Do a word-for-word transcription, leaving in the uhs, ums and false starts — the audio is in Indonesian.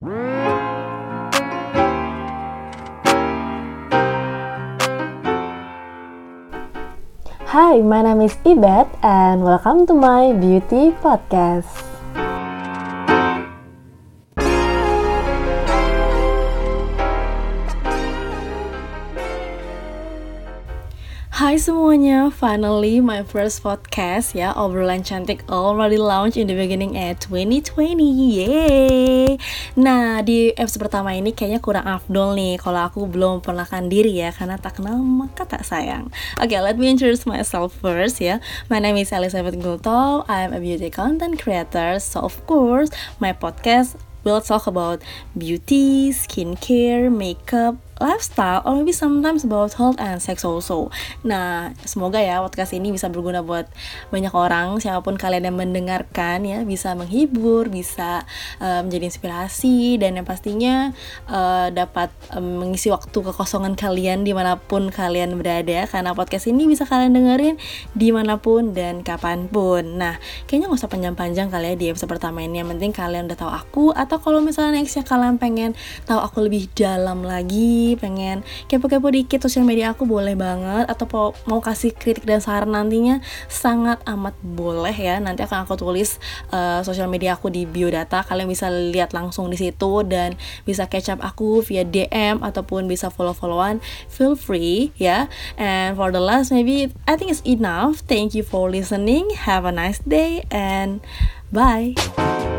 Hi, my name is Ibet and welcome to my beauty podcast. Hai semuanya, finally my first podcast ya, obrolan cantik already launch in the beginning at twenty twenty, yeay. Nah di episode pertama ini kayaknya kurang afdol nih kalau aku belum perkenalkan diri ya, karena tak kenal maka tak sayang. Oke, okay, let me introduce myself first ya. My name is Elizabeth Gulto, I'm a beauty content creator, so of course my podcast will talk about beauty, skincare, makeup, lifestyle, or maybe sometimes about health and sex also. Nah, semoga ya podcast ini bisa berguna buat banyak orang, siapapun kalian yang mendengarkan ya, bisa menghibur, bisa uh, menjadi inspirasi, dan yang pastinya uh, dapat um, mengisi waktu kekosongan kalian dimanapun kalian berada, karena podcast ini bisa kalian dengerin dimanapun dan kapanpun. Nah, kayaknya gak usah panjang-panjang kali ya di episode pertama ini, yang penting kalian udah tahu aku, atau kalau misalnya nextnya kalian pengen tahu aku lebih dalam lagi, pengen kepo-kepo dikit sosial media aku, boleh banget, atau mau kasih kritik dan saran nantinya sangat amat boleh ya. Nanti akan aku tulis uh, sosial media aku di biodata, kalian bisa lihat langsung di situ dan bisa catch up aku via D M ataupun bisa follow-followan, feel free ya. And for the last, maybe I think it's enough. Thank you for listening, have a nice day and bye.